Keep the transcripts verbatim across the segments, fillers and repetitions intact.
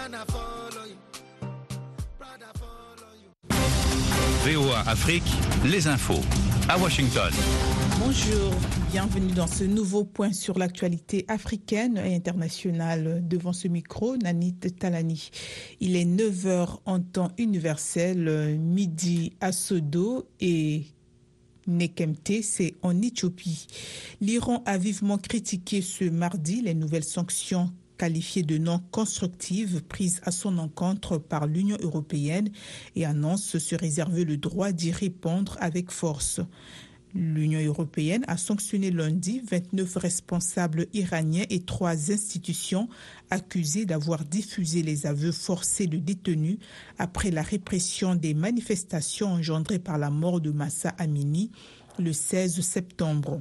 V O A Afrique, les infos à Washington. Bonjour, bienvenue dans ce nouveau point sur l'actualité africaine et internationale. Devant ce micro, Nanit Talani. Il est neuf heures en temps universel, midi à Sodo et Nekemte, c'est en Éthiopie. L'Iran a vivement critiqué ce mardi les nouvelles sanctions qualifiées de non constructives prises à son encontre par l'Union européenne et annonce se réserver le droit d'y répondre avec force. L'Union européenne a sanctionné lundi vingt-neuf responsables iraniens et trois institutions accusées d'avoir diffusé les aveux forcés de détenus après la répression des manifestations engendrées par la mort de Mahsa Amini le seize septembre.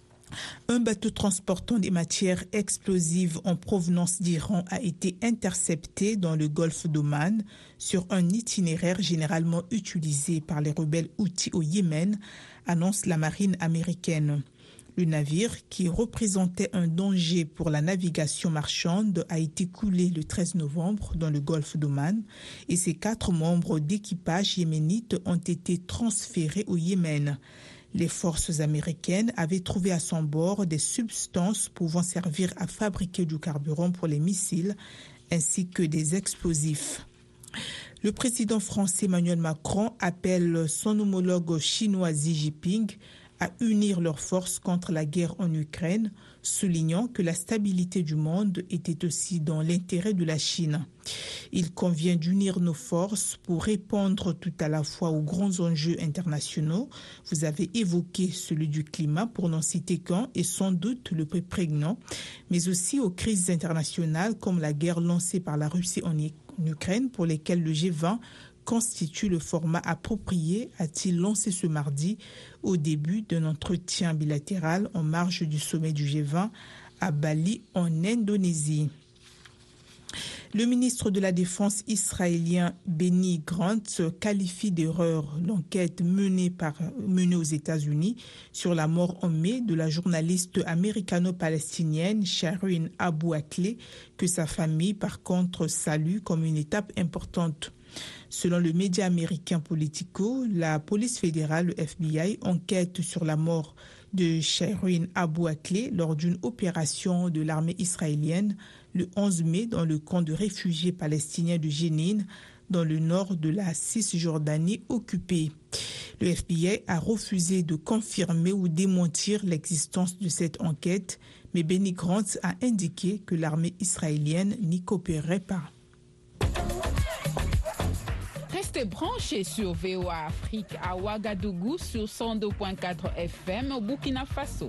Un bateau transportant des matières explosives en provenance d'Iran a été intercepté dans le golfe d'Oman sur un itinéraire généralement utilisé par les rebelles Houthis au Yémen, annonce la marine américaine. Le navire, qui représentait un danger pour la navigation marchande, a été coulé le treize novembre dans le golfe d'Oman et ses quatre membres d'équipage yéménites ont été transférés au Yémen. Les forces américaines avaient trouvé à son bord des substances pouvant servir à fabriquer du carburant pour les missiles ainsi que des explosifs. Le président français Emmanuel Macron appelle son homologue chinois Xi Jinping à unir leurs forces contre la guerre en Ukraine, soulignant que la stabilité du monde était aussi dans l'intérêt de la Chine. Il convient d'unir nos forces pour répondre tout à la fois aux grands enjeux internationaux. Vous avez évoqué celui du climat, pour n'en citer qu'un, et sans doute le plus prégnant, mais aussi aux crises internationales comme la guerre lancée par la Russie en Ukraine, pour lesquelles le G vingt constitue le format approprié, a-t-il lancé ce mardi au début d'un entretien bilatéral en marge du sommet du G vingt à Bali en Indonésie. Le ministre de la Défense israélien Benny Gantz qualifie d'erreur l'enquête menée, par, menée aux États-Unis sur la mort en mai de la journaliste américano-palestinienne Shireen Abu Akleh, que sa famille par contre salue comme une étape importante. Selon le média américain Politico, la police fédérale, le F B I, enquête sur la mort de Shireen Abu Akleh lors d'une opération de l'armée israélienne le onze mai dans le camp de réfugiés palestiniens de Jenin, dans le nord de la Cisjordanie occupée. Le F B I a refusé de confirmer ou démentir l'existence de cette enquête, mais Benny Gantz a indiqué que l'armée israélienne n'y coopérait pas. Restez branchés sur V O A Afrique à Ouagadougou sur cent deux virgule quatre F M au Burkina Faso.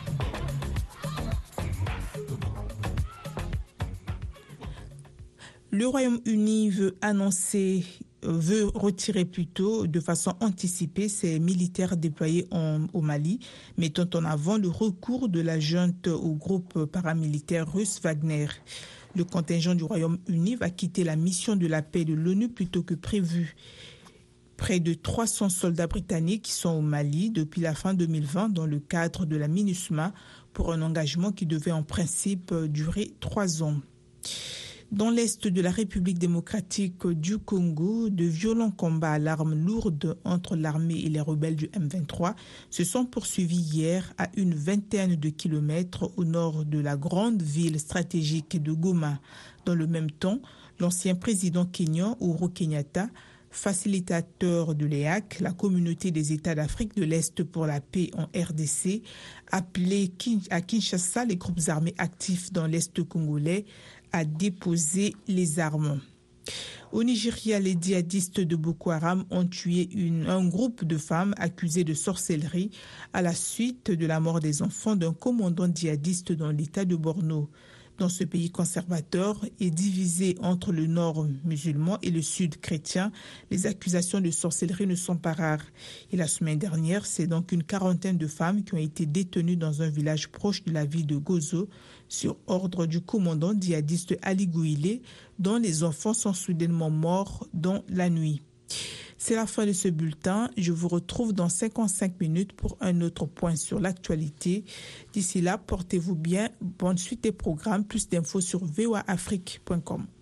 Le Royaume-Uni veut annoncer, veut retirer plutôt de façon anticipée ses militaires déployés en, au Mali, mettant en avant le recours de la junte au groupe paramilitaire russe Wagner. Le contingent du Royaume-Uni va quitter la mission de la paix de l'ONU plutôt que prévu. Près de trois cents soldats britanniques sont au Mali depuis la fin deux mille vingt dans le cadre de la MINUSMA pour un engagement qui devait en principe durer trois ans. Dans l'est de la République démocratique du Congo, de violents combats à l'arme lourde entre l'armée et les rebelles du M vingt-trois se sont poursuivis hier à une vingtaine de kilomètres au nord de la grande ville stratégique de Goma. Dans le même temps, l'ancien président kényan Uhuru Kenyatta, facilitateur de l'E A C, la communauté des États d'Afrique de l'Est pour la paix en R D C, appelé à Kinshasa les groupes armés actifs dans l'Est congolais à déposer les armes. Au Nigeria, les djihadistes de Boko Haram ont tué une, un groupe de femmes accusées de sorcellerie à la suite de la mort des enfants d'un commandant djihadiste dans l'État de Borno. Dans ce pays conservateur et divisé entre le nord musulman et le sud chrétien, les accusations de sorcellerie ne sont pas rares. Et la semaine dernière, c'est donc une quarantaine de femmes qui ont été détenues dans un village proche de la ville de Gozo sur ordre du commandant djihadiste Ali Gouilé, dont les enfants sont soudainement morts dans la nuit. C'est la fin de ce bulletin. Je vous retrouve dans cinquante-cinq minutes pour un autre point sur l'actualité. D'ici là, portez-vous bien. Bonne suite des programmes. Plus d'infos sur v o a afrique point com.